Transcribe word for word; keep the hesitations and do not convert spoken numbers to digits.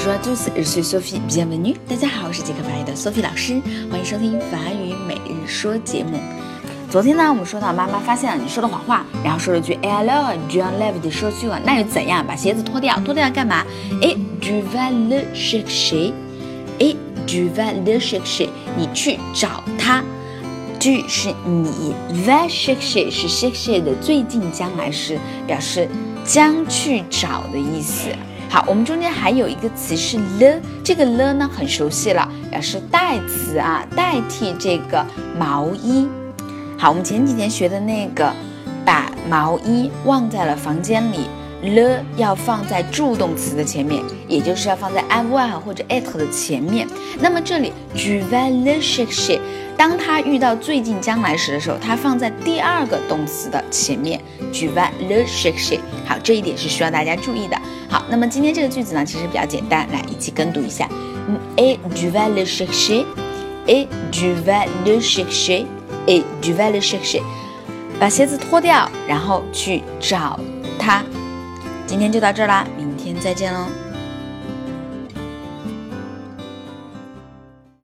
Bonjour à tous, je suis Sophie, bienvenue. 大家好，我是即刻法语的 Sophie 老师，欢迎收听法语每日说节目。昨天呢，我们说到妈妈发现了你说的谎话，然后说了句 "Et alors, tu enlèves des chaussures"， 那又怎样？把鞋子脱掉，脱掉干嘛 ？Et tu vas le chercher, et tu vas le chercher， 你去找他。tu 是你 ，va chercher 是 chercher 的最近将来时，表示将去找的意思。好，我们中间还有一个词是 le， 这个 le 呢很熟悉了，表示代词啊，代替这个毛衣。好，我们前几天学的那个把毛衣忘在了房间里 le 要放在助动词的前面，也就是要放在 avoir 或者 être 的前面。那么这里 tu vas le chercher， 当它遇到最近将来时的时候，它放在第二个动词的前面 tu vas le chercher。 好，这一点是需要大家注意的。好，那么今天这个句子呢其实比较简单，来一起跟读一下 et tu vas le chercher, et tu vas le chercher, et tu vas le chercher， 把鞋子脱掉，然后去找它。今天就到这儿啦，明天再见喽。